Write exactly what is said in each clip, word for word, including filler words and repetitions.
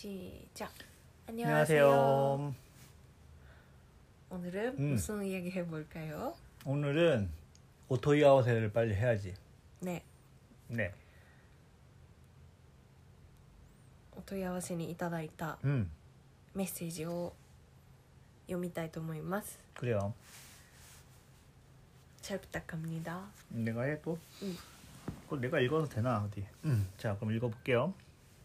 시작. 안녕하세요. 안녕하세요. 오늘은 음. 무슨 이야기 해볼까요? 오늘은 오토이아오세를 빨리 해야지. 네, 네. お問い合わせにいただいた 음, メッセージを読みたいと思います。 그래요. 잘 부탁합니다. 내가 해 또? 응. 그거 내가 읽어도 되나 어디? 음, 자, 그럼 읽어볼게요.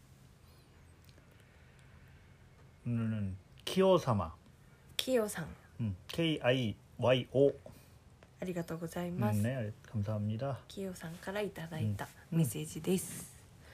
오늘은 키오사마. キヨさん、 음, 케이 아이 와이 오. ありがとうございます。 음, 네, 감사합니다. キヨさんからいただいたうんメッセージです。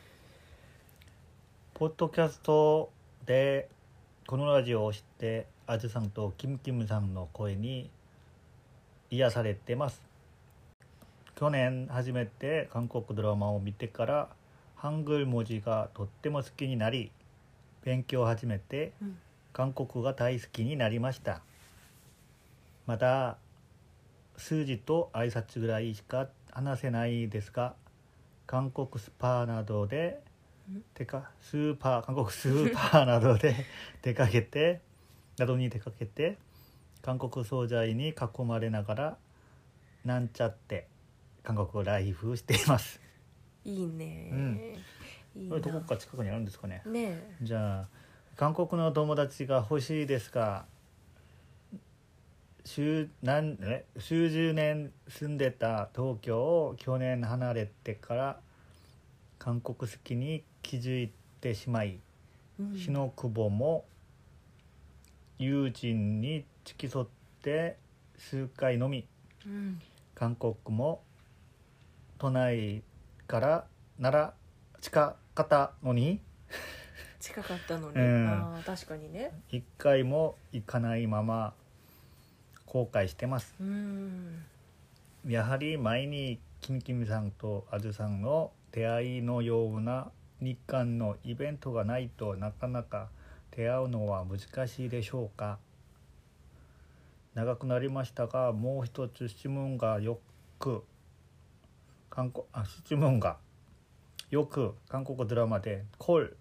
ポッドキャストでこのラジオを知ってあずさんとキムキムさんの声に癒されてます。去年初めて韓国ドラマを見てからハングル文字がとっても好きになり勉強を始めてうん韓国が大好きになりました。まだ数字と挨拶ぐらいしか話せないですが韓国スパなどでてかスーパー韓国スーパーなどで出かけてなどに出かけて韓国惣菜に囲まれながらなんちゃって韓国をライフしています。 いいね、 うんいいな。 これどこか近くにあるんですかね。 ねじゃあ韓国の友達が欲しいですが数何え数十年住んでた東京を去年離れてから韓国好きに気づいてしまい、 うん、 日の久保も友人に付き添って数回のみ、 うん、 韓国も都内からなら近かったのに近かったのに、 うん、 あ確かにね一回も行かないまま後悔してます。 うんやはり前にキムキムさんとあずさんの出会いのような日韓のイベントがないとなかなか出会うのは難しいでしょうか。長くなりましたがもう一つ質問がよく韓国あ質問がよく韓国ドラマでコール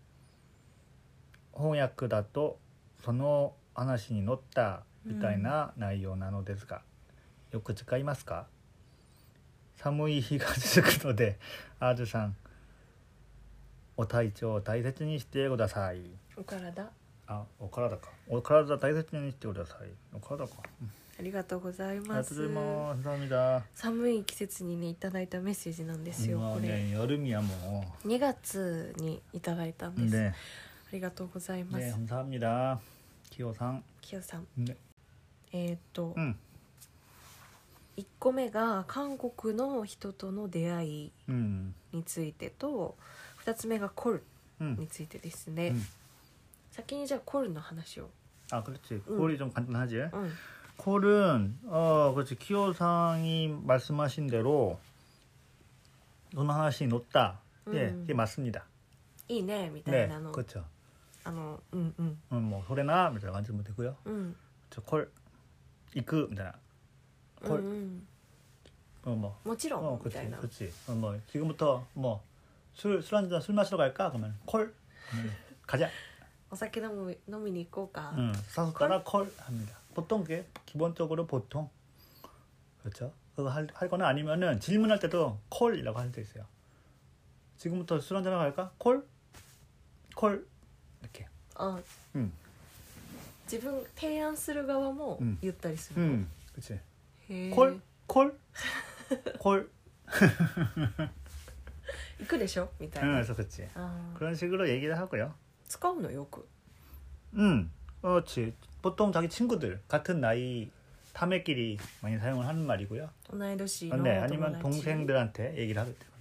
翻訳だとその話に乗ったみたいな内容なのですが、うん、よく使いますか。寒い日が続くのであずさんお体調を大切にしてください。 お体あ、お体か。お体大切にしてください。お体か。 ありがとうございありがます。 とうございます。감사합니다。 寒い季節にねいただいたメッセージなんですよ。これ 여름이야もうにがつにいただいたんです。 ね、 ありがとうございます。 ね、감사합니다。キヨさん。 キヨさん。 ね、 えー、っと、 うん、 いっこめが韓国の人との出会いについてと、ふたつめがコルについてですね。 うん、 先にじゃあコルの話を。 아 그렇지. 콜이 좀 간단하지. うん、 콜은 어 그렇지. 키오상이 말씀하신 대로 돈 하나씩 놓다. 예, 음. 이게 맞습니다. いいねみたい 네, なの、 그렇죠. あのうんうん 음, 뭐 소래나みたいな感じもできるよ. うん 저 콜, 이크みたいな. うん 콜, うん 어 뭐, もちろん 어 み 그렇지, たいな 그렇지. 어 뭐 지금부터 뭐 술 술 한잔 술 마시러 갈까? 그러면 콜, 음, 가자. お酒飲む飲みに行こうか、 음, 사서따라 콜 합니다. 보통 그게 기본적으로 보통 그렇죠. 그거 할, 할 거나 아니면은 질문할 때도 콜이라고 할 때 있어요. 지금부터 술 한잔 갈까? 콜? 콜 이렇게. あ、 음. 自分提案する側もうん言ったりするの、 음. 그렇지. へえ 콜? 콜? 콜? 行くでしょみたい 응, な、 그래서 그렇지. あ 그런 식으로 얘기를 하고요. 使うのよく 음. 그렇지. 보통 자기 친구들 같은 나이 타매끼리 많이 사용을 하는 말이고요. 同い年 아, の 네, 友 아니면 達 동생들한테 얘기를 하겠다거나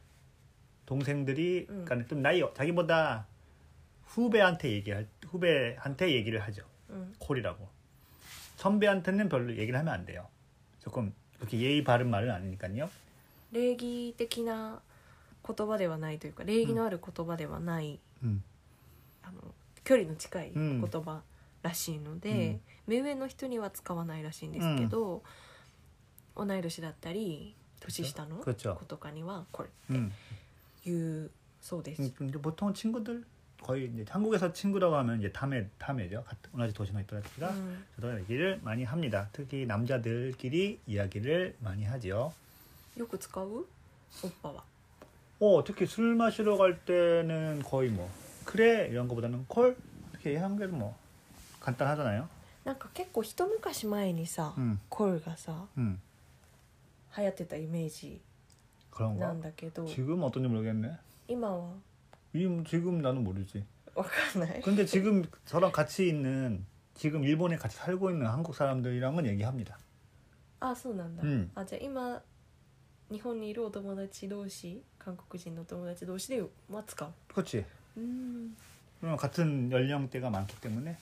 동생들이 음. 그러니까 좀 나이 자기보다 후배한테 얘기할 후배한테 얘기를 하죠. うん 콜이라고. 선배한테는 별로 얘기를 하면 안 돼요. 조금 그렇게 예의 바른 말은 아니니까요. 礼儀的な言葉ではないというか礼儀のある言葉ではない、 음. あの距離の近いうん言葉らしいので、 うん目上の人には使わないらしいんですけど、同い年だったり年下の 그렇죠. 子とかにはこれ 음. 言うそうです、 음, 근데 보통 친구들 거의 이제 한국에서 친구라고 하면 이제 타메 타메죠. 같은 도시에 있던 애들가 음. 저도 얘기를 많이 합니다. 특히 남자들끼리 이야기를 많이 하지요. よく使う？オッパは。 어, 특히 술 마시러 갈 때는 거의 뭐 그래 이런 거보다는 콜 특히 한국에는 뭐 간단하잖아요. なんか結構一昔前にさ、 음, コルがさ 음, 流行ってたイメージ 그런가? なんだけど、 지금 어떤지 모르겠네. 今は 이 지금 나는 모르지. わかんない。 근데 지금 저랑 같이 있는 지금 일본에 같이 살고 있는 한국 사람들이랑은 얘기합니다. あ、そうなんだ。 음. あ、じゃあ今日本にいるお友達同士、韓国人のお友達同士では使う。 그렇지. うーん。 그러면 같은 연령대가 많기 때문에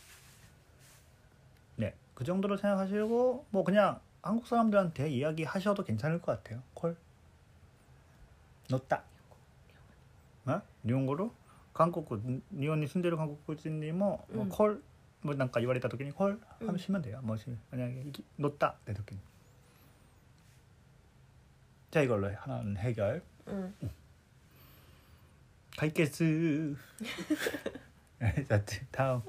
네, 그 정도로 생각하시고 뭐 그냥 한국 사람들한테 이야기하셔도 괜찮을 것 같아요. 콜. 넣다. 어? 일본어로 한국 일본에 住んでる 한국인이 뭐 음. 콜 뭐なんか言われた時に 콜 음. 하시면 돼요. 뭐 만약에 넣다 내時に 자 이걸로 하나는 해결. うん。 解決. 자 다음.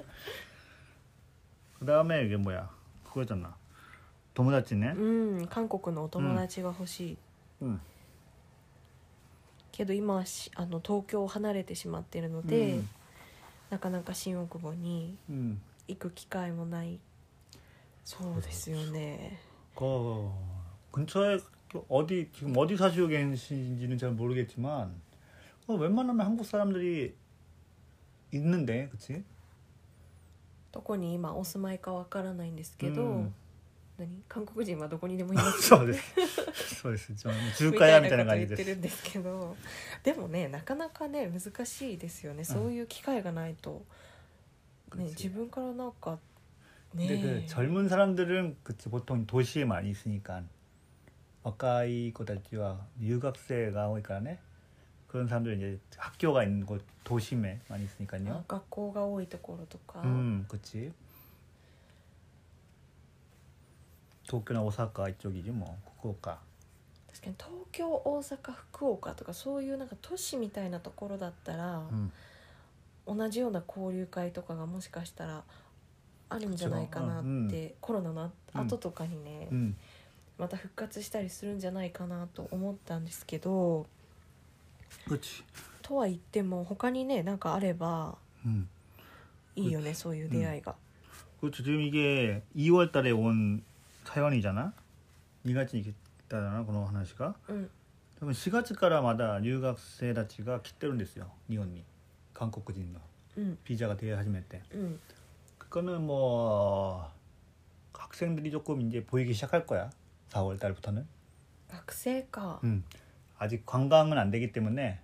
그 다음에 이게 뭐야? 그거잖아. 友達ね。 うん、韓国のお友達が欲しい。 うん。 けど今はしあの東京を離れてしまっているので、 음. なかなか新大久保に 음. 行く機会もない。そうですよね。 그 근처에 어디 지금 어디 사시고 계신지는 잘 모르겠지만 어, 웬만하면 한국 사람들이 있는데, 그치? どこに今お住まいかわからないんですけど、 うん何韓国人はどこにでもいますそうですそうです좀中華屋みたいな感じみたいなこと言ってでするんですけど、でもねなかなかね難しいですよね。そういう機会がないと、ね、 그치. 自分からなんかね 근데 그 젊은 사람들은 그치 보통 도시에 많이 있으니까若い子たちは 유학생가 오니까네 그런 사람들 이제 학교가 있는 곳 도심에 많이 있으니까요. 学校が多いところとか、 음, 그치. 도쿄나 오사카 이쪽이지 뭐. 후쿠오카. 確かに東京、大阪、福岡とかそういうなんか都市みたいなところだったら、 음. 同じような交流会とかがもしかしたらあるんじゃないかなって、 그쵸. コロナの後とかにね、 음. また復活したりするんじゃないかなと思ったんですけど、 그치. とは言っても他にねなんかあれば 음. いいよね、そういう出会いが。 그렇죠. 지금 이게 이월 달에 온 사연이잖아. 이月に来たなこの話が。 うん、 그러면 시月からまだ留学生たちが来てるんですよ. 일본에. 한국인のうん、 비자가 되어始めて. うん、 그거는 뭐 학생들이 조금 이제 보이기 시작할 거야. 사월 달부터는. 学生か。 음. 아직 관광은 안 되기 때문에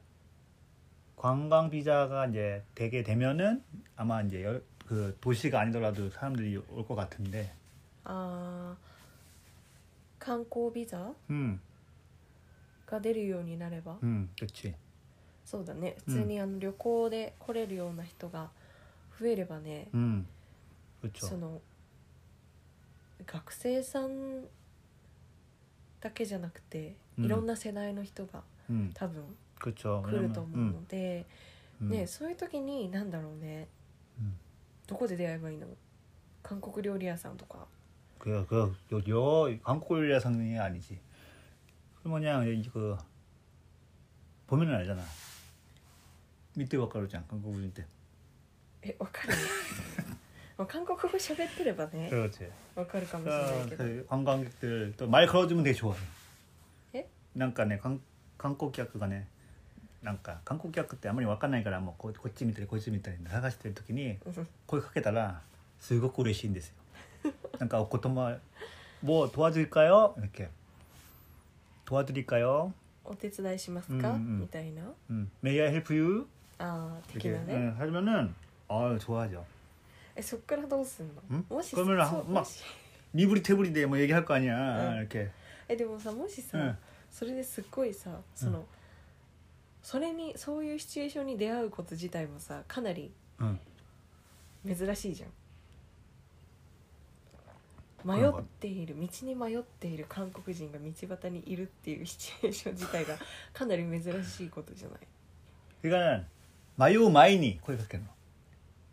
관광 비자가 이제 되게 되면은 아마 이제 여, 그 도시가 아니더라도 사람들이 올 것 같은데. あー観光ビザ 음. が出るようになれば、 음, 그렇지. そうだね。普通にあの旅行で来れるような人が増えればね、 음. 그렇죠. その学生さんだけじゃなくて、 うんいろんな世代の人が 음. 多分 그렇죠. 来ると思うので、 음. ね、そういう時に何だろうね、 음. どこで出会えばいいの？韓国料理屋さんとか。 그, 그, 요, 요, 한국 요리야 상능이 아니지. 그 뭐냐, 그, 보면은 알잖아. 밑에 와까르잖아, 한국인 때. え、わかるまあ韓国語喋ってればね 그렇지. わかるかもしれないけど、 그 관광객들 또 말 걸어주면 되게 좋아해. 에? なんかね、観光客がね、なんか観光客ってあんまり分かんないからもうここっち見たりこっち見たり探してる時に声かけたらすごく嬉しいんですよ。なんかお言葉뭐 도와줄까요? 이렇게 도와드릴까요? お手伝いしますか、 うんうん、 みたいな 음, May I help you? ああ的 이렇게 なね、 네, 하면은 아 좋아하죠. えそっからどうすんの、 응? もし 그러면 そう 막 もし 미부리 태부리데 뭐 얘기할 거 아니야. 응. 이렇게 えでもさもしさ、 응. それですっごいさその、それにそういうシチュエーションに出会うこと自体もさかなり 응. 珍しいじゃん。迷っている道に迷っている韓国人が道端にいるっていうシチュエーション自体がかなり珍しいことじゃない。 그러니까 마요 마이니 거기 갔겠노.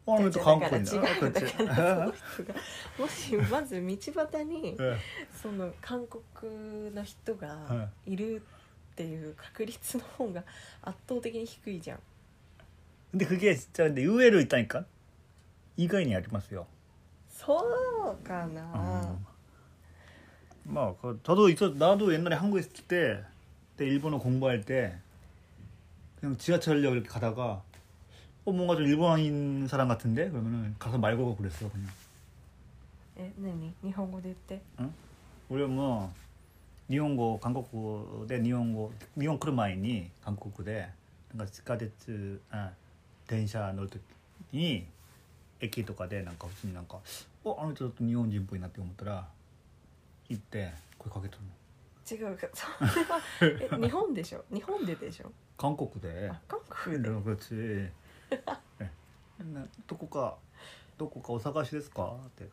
あの人韓国人だから違うだからその人がもしまず道端にその韓国の人がいるっていう確率の方が圧倒的に低いじゃん。 근데 그게 진짜 근데 의외로 있다니까. 이거인이 아리마스요. そうかな。 어. 막 그, 저도 있어 나도 옛날에 한국에 있을 때, 때 일본어 공부할 때 그냥 지하철역 이렇게 가다가 어 뭔가 좀 일본인 사람 같은데 그러면은 가서 말 걸고 그랬어 그냥. え、何？日本語で言って。 응? 우리 뭐 일본어 한국어 대 일본어 일본 크루마이니 한국어 대 뭔가 지하철 아電車 乗る時に駅とかでなんか普通になんかおあの人ちょっと日本人っぽいなって思ったら行って声かけたの。違うか、それはえ日本でしょ。日本ででしょ。 韓国で。 あ、韓国で。 그렇지. 네. どこかどこかお探しですかって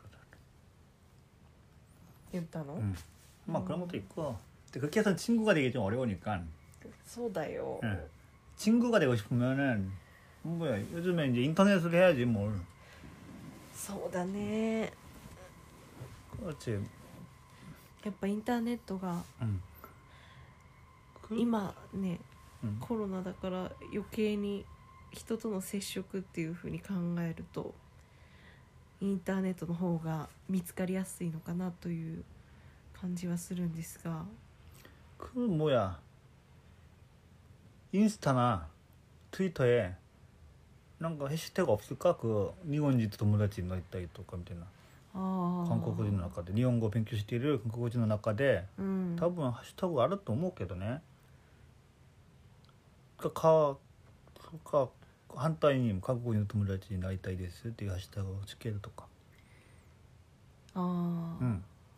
言ったの？ 응. 막 그런 것도 있고. 근데 그렇게 해서 친구가 되기 좀 어려우니까. そうだよ. 네. 친구가 되고 싶으면은 뭐야 요즘에 이제 인터넷으로 해야지 뭘. そうだね. 그렇지. やっぱインターネットが、うん、今ね、うん、コロナだから余計に人との接触っていう風に考えるとインターネットの方が見つかりやすいのかなという感じはするんですが。 그 뭐야 인스타나 트위터에 뭔가 해시태그 없을까? 그 일본인友達のいたりとかみたいな。韓国人の中で日本語を勉強している韓国人の中で、うん、多分ハッシュタグあると思うけどね。かかか反対に韓国人の友達になりたいですっていうハッシュタグをつけるとか。 ああ。 うん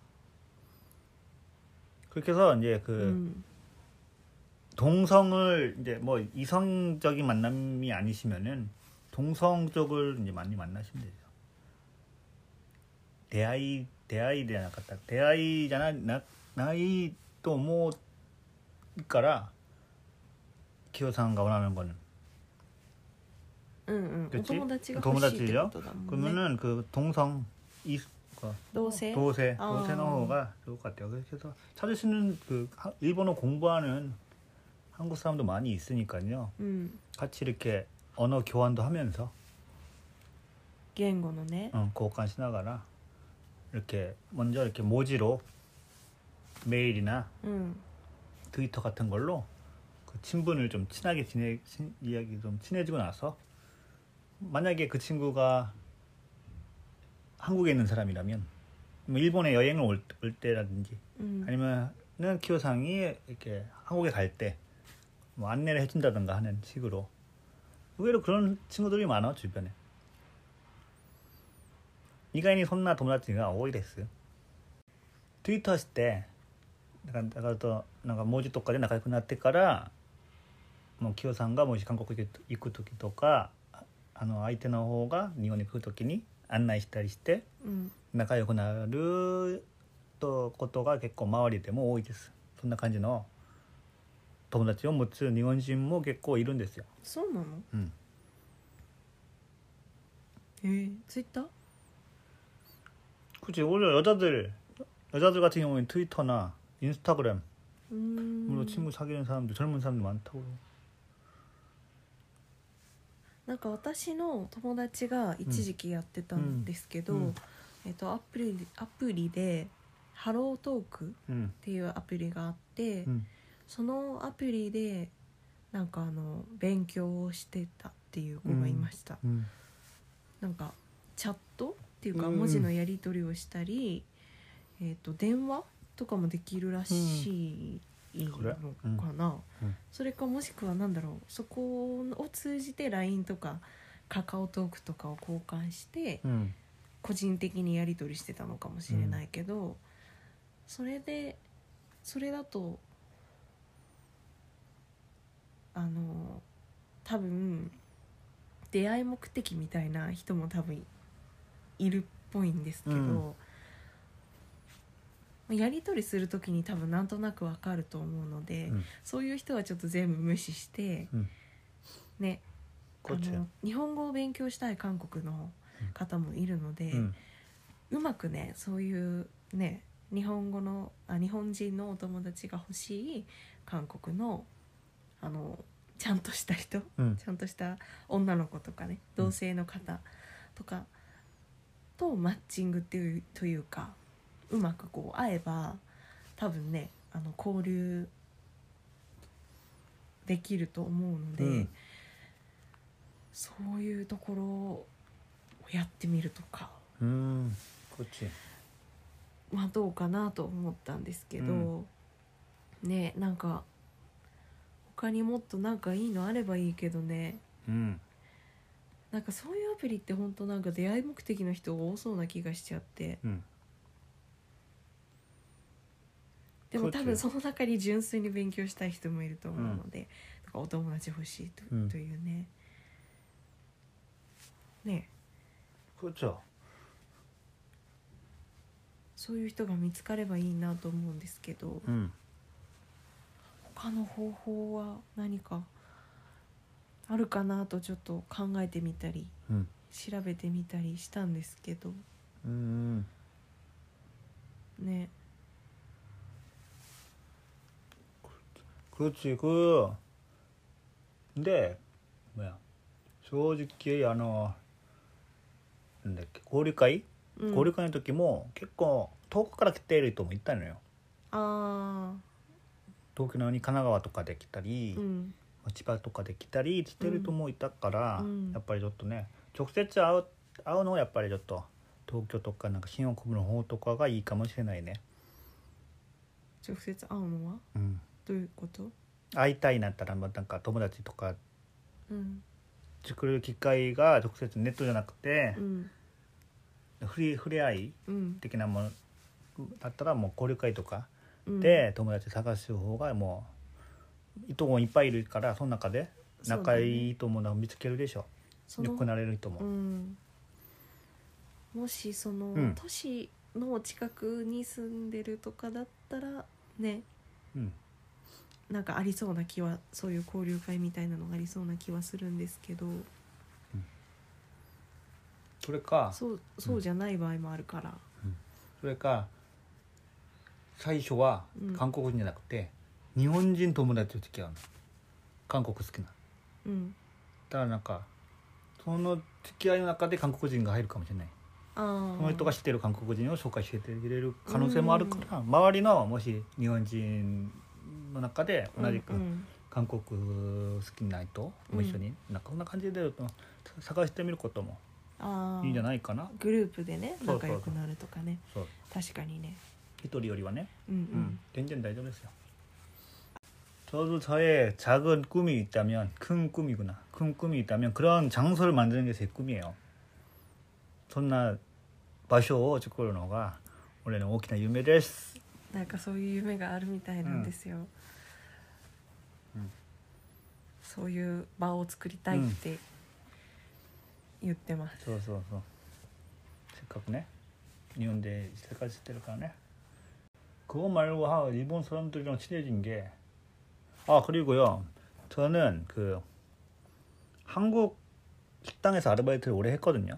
。그렇게 해서 이제 그 음. 동성을 이제 뭐 이성적인 만남이 아니시면은 동성 쪽을 이제 많이 만나시면 되죠. 대아이 대아이でなかった出会いじゃないなないと思うからキヨさんが원하는 거는 응응 그치? 友達が欲しいって 동무다치죠? ことだもんね. 그러면은 그 동성 이 도세 도세 아. 도세の方が 좋을 것 같아요. 그래서 찾으시는 그 일본어 공부하는 한국 사람도 많이 있으니까요. 음. 같이 이렇게 언어 교환도 하면서 言語のね 어, 교환しながら 이렇게 먼저 이렇게 모지로 메일이나 음. 트위터 같은 걸로 그 친분을 좀 친하게 지내 친, 이야기 좀 친해지고 나서 만약에 그 친구가 한국에 있는 사람이라면 뭐 일본에 여행을 올, 올 때라든지 음. 아니면은 키요상이 이렇게 한국에 갈 때 뭐 안내를 해준다든가 하는 식으로 의외로 그런 친구들이 많아 주변에. 意外にそんな友達が多いです。ツイートしてだからだからとなんか文字とかで仲良くなってからもうキヨさんがもし韓国行く時とかあの相手の方が日本に来る時に案内したりして仲良くなるとことが結構周りでも多いです。そんな感じの友達を持つ日本人も結構いるんですよ。 そうなの？ うん。 えー、ツイッター？ 그치. 오히려 여자들 여자들 같은 경우는 트위터나 인스타그램 음. 물론 친구 사귀는 사람들 젊은 사람들 많다고. なんか私の友達が一時期やってたんですけど、うんうん、えっとアプリアプリでハロートークっていうアプリがあって、うん、そのアプリでなんかあの勉強をしてたっていう子がいました。うんうん、なんかチャットっていうか文字のやり取りをしたり、うん、えっと電話とかもできるらしいのかな、うんうん、それかもしくはなんだろうそこを通じて ライン とかカカオトークとかを交換して、うん、個人的にやり取りしてたのかもしれないけど、うん、それでそれだとあの多分出会い目的みたいな人も多分いるっぽいんですけど、うん、やり取りする時に多分なんとなくわかると思うので、うん、そういう人はちょっと全部無視して、うん、ねあの日本語を勉強したい韓国の方もいるので、うん、うまくねそういうね日本語のあ日本人のお友達が欲しい韓国のあのちゃんとした人、うん、ちゃんとした女の子とかね同性の方とかとマッチングっていうというかうまくこう会えば多分ねあの交流できると思うので、うん、そういうところをやってみるとか、 うん、こっちまあどうかなと思ったんですけど、うん、ねなんか他にもっとなんかいいのあればいいけどね、うん、なんかそういうアプリって本当なんか出会い目的の人が多そうな気がしちゃって、うん、でも多分その中に純粋に勉強したい人もいると思うので、うん、お友達欲しい と,、うん、というねね 그렇죠 そういう人が見つかればいいなと思うんですけど、うん、他の方法は何かあるかなとちょっと考えてみたり、うん、調べてみたりしたんですけど、うん、ね 그렇지 그 근데 뭐야 솔직히あのなんだっけ交流会、うん、交流会の時も結構遠くから来ている人もいたのよ。あ東京のに神奈川とかで来たり、うん、千葉とかで来たりしてる人もいたから、うん、やっぱりちょっとね直接会う、会うのはやっぱりちょっと東京とかなんか新大久保の方とかがいいかもしれないね。 直接会うのは、うん、どういうこと？ 会いたいなったら、まあ、なんか友達とか、うん、作る機会が直接ネットじゃなくて、うん、触れ、触れ合い的なものだったらもう交流会とかで友達探す方がもういとこいっぱいいるからその中で仲いいと思うのを見つけるでしょ。よくなれると思う、うん、 もしその、うん、都市の近くに住んでるとかだったらね、うん、なんかありそうな気はそういう交流会みたいなのがありそうな気はするんですけど、うん、 それかそう、そうじゃない場合もあるから、 うん、それか最初は韓国人じゃなくて、うん、日本人友達と付き合うの。韓国好きな、うん、だからなんかその付き合いの中で韓国人が入るかもしれない。あその人が知ってる韓国人を紹介してくれる可能性もあるから、うん、周りのもし日本人の中で同じく韓国好きな人も一緒に、うん、なんかこんな感じで探してみることもいいんじゃないかな。 グループでね仲良くなるとかね。そうそうそう確かにね一人よりはね、うんうん、全然大丈夫ですよ。저도 저의 작은 꿈이 있다면 큰 꿈이구나. 큰 꿈이 있다면 그런 장소를 만드는 게 제 꿈이에요. そんな場所を作るのが俺の大きな夢です。 なんかそういう夢があるみたいなんですよ、うん、そういう場を作りたいって言ってます、 うん、そうそうそうせっかくね日本で生活してるからね。그거 말고 하 일본 사람들이랑 친해진 게 아 그리고요 저는 그 한국 식당에서 아르바이트를 오래 했거든요.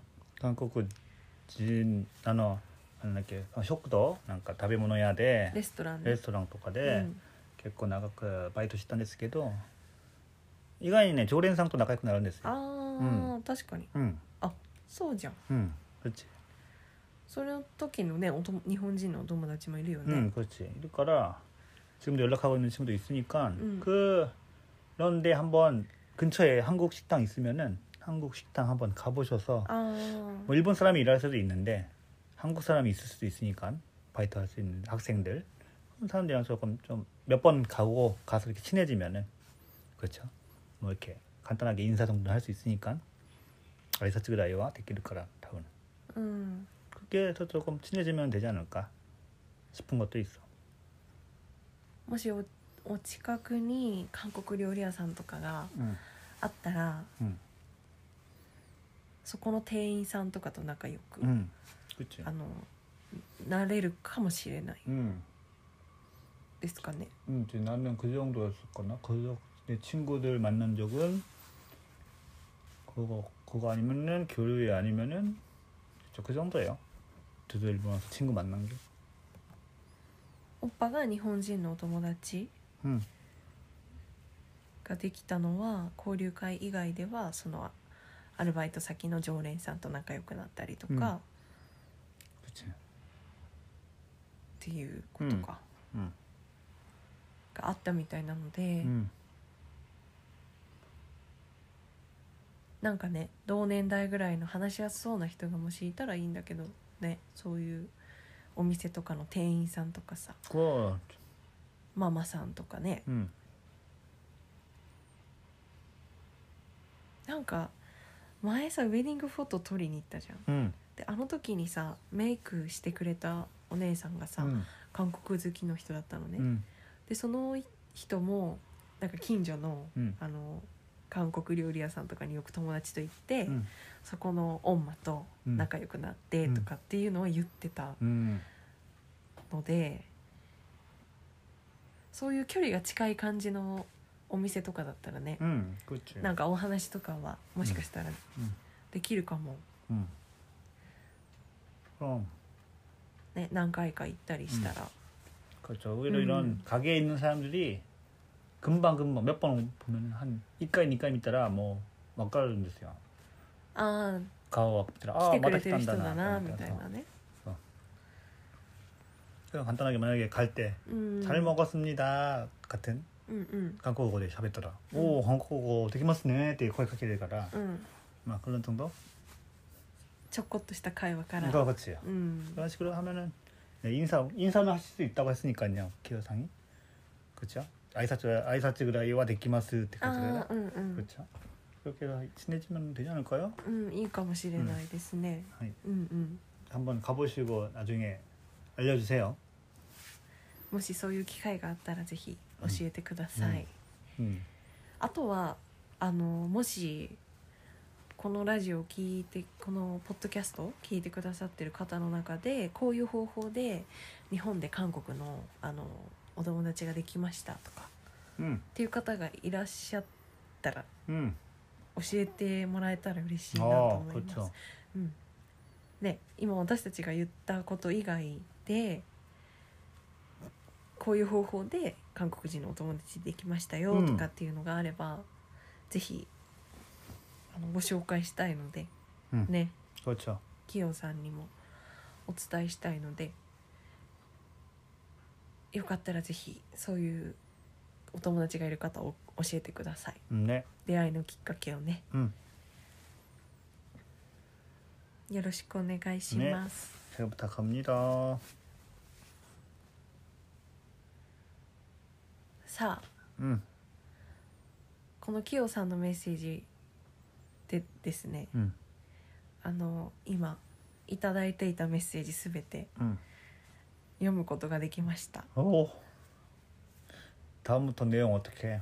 한국인あのなんだっけ食堂なんか食べ物屋でレストラン、 ね、レストランとかで、うん、結構長くバイトしたんですけど意外にね常連さんと仲良くなるんですよ。 ああ、うん、確かに、うん、あそうじゃん。 うん그렇지 その時のねおと日本人のお友達もいるよね。 うん그렇지いるから지금도 연락하고 있는 친구도 있으니까 음. 그런데 한번 근처에 한국 식당 있으면은 한국 식당 한번 가보셔서 아. 뭐 일본 사람이 일할 수도 있는데 한국 사람이 있을 수도 있으니까 바이트 할 수 있는 학생들 그런 사람들이랑 조금 좀 몇 번 가고 가서 이렇게 친해지면은 그렇죠 뭐 이렇게 간단하게 인사 정도 할 수 있으니까 아이사츠 그라이와 데키를 거라 타고는 음. 그게 더 조금 친해지면 되지 않을까 싶은 것도 있어. もし お, お近くに韓国料理屋さんとかがあったら、うん、そこの店員さんとかと仲良く、うん、あのなれるかもしれない、うん、ですかね。 うん、나는 그 정도였을거나 그 내 친구들 만난 적은 그거 그거 아니면은 교류회 아니면은 그 정도예요. 저도 일본 와서 친구 만난 게. おっぱが日本人のお友達 응. ができたのは交流会以外ではそのアルバイト先の常連さんと仲良くなったりとか、 うんっ 그치. ていうことか、 응. があったみたいなので、 응. なんかね同年代ぐらいの話しやすそうな人がもしいたらいいんだけどね、そういうお店とかの店員さんとかさ、 그거 ママさんとかね、 응. なんか前さウェディングフォト撮りに行ったじゃん。 응. であの時にさメイクしてくれたお姉さんがさ、 응. 韓国好きの人だったのね、 응. でその人もなんか近所の、 응. あの韓国料理屋さんとかによく友達と行って、 응. そこのオンマと仲良くなってとかっていうのを言ってた 응. ので、 そういう距離が近い感じのお店とかだったらね、 응. 그치. なんかお話とかはもしかしたら 응. できるかも、 응. 그럼 ね、何回か行ったりしたら、 그렇죠. 오히려 음. 이런 가게에 있는 사람들이 금방 금방 몇 번 보면 한 이까이 이까이 있다라 뭐 막가는데요. ああ 가오 来 아 てくれてる人 맞다 だなみたいなね、 그냥 간단하게 만약에 갈 때 잘 うん、 먹었습니다 같은 うんうん 한국어で喋ったら 음. 오 한국어 되게 맛있네って声かけるからうん、 막 그런 정도? ちょこっとした会話から、 그거 그렇지. うん、 그런 식으로 하면은 네, 인사 인사는 하실 수 있다고 했으니까요. 기여상이. 그렇죠? 아이사츠 아이사츠 그라이와 데키마스 って感じでああうんうん、 그렇죠? 그렇게 친해지면 되지 않을까요? うん、いいかもしれないですね、 はい. うんうん、 한번 가보시고 나중에 알려주세요. もしそういう機会があったらぜひ教えてください、 음. あとはあのもしこのラジオを聞いてこのポッドキャストを聞いてくださってる方の中でこういう方法で日本で韓国のあのお友達ができましたとか 음. っていう方がいらっしゃったら 음. 教えてもらえたら嬉しいなと 아, 思います、 그렇죠. うんね、今私たちが言ったこと以外でこういう方法で韓国人のお友達できましたよとかっていうのがあれば、ぜひあのご紹介したいので、 음. ね、 그렇죠. キヨさんにもお伝えしたいので、よかったらぜひそういうお友達がいる方を教えてください。 음, 네. 出会いのきっかけをね、 음. よろしくお願いします、 잘 부탁합니다. さあ 음. このキヨさんのメッセージでですね、 음. あの今いただいていたメッセージすべて 음. 読むことができました。 오. 다음부터 내용 어떻게?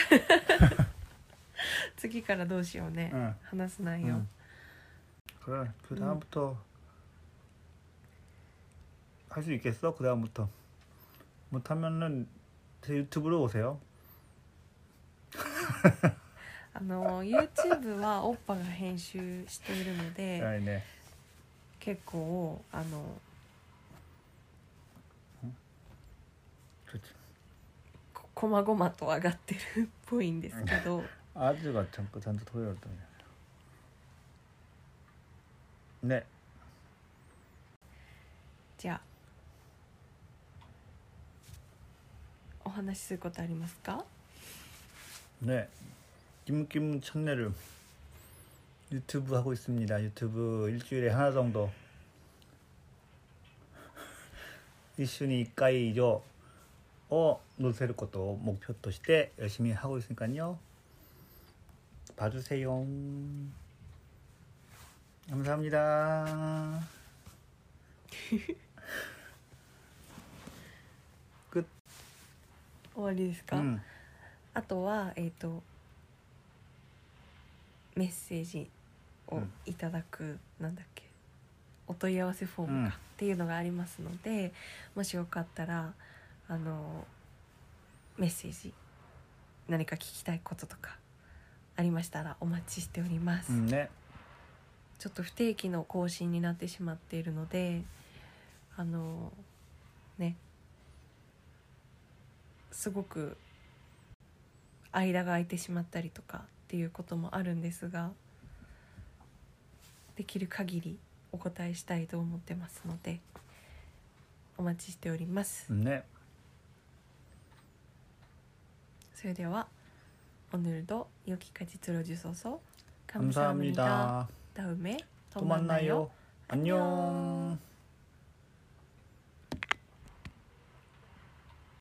次からどうしようね、 응. 話す内容、 응. 그래. 그 다음부터 할 수 있겠어? 그 다음부터 못하면은 제 유튜브로 오세요. あの YouTube はオッパが編集しているので、 네. 結構あの 그렇지. ここまごまと上がってるっぽいんですけど、 아주가 잠깐 잔뜩 토요일더니. 네. じゃあお話しすることありますか？ 네. 김김 채널을 유튜브 하고 있습니다. 유튜브 일주일에 하나 정도. 이슈니 이까이죠. 어, 載せることを目標として열심히 하고 있으니까요. 봐주세요. 감사합니다. 끝. 終わりですか？ 음. あとはえっとメッセージをいただく、なんだっけ、お問い合わせフォームか、 うんっていうのがありますので、もしよかったらあのメッセージ何か聞きたいこととかありましたらお待ちしております、 うんね、 ちょっと不定期の更新になってしまっているのであのねすごく間が空いてしまったりとかっていうこともあるんですが、できる限りお答えしたいと思ってますのでお待ちしております、 うんね。 それでは오늘도 여기까지 들어주셔서 감사합니다. 감사합니다. 다음에 더 또 만나요. 만나요. 안녕. 안녕.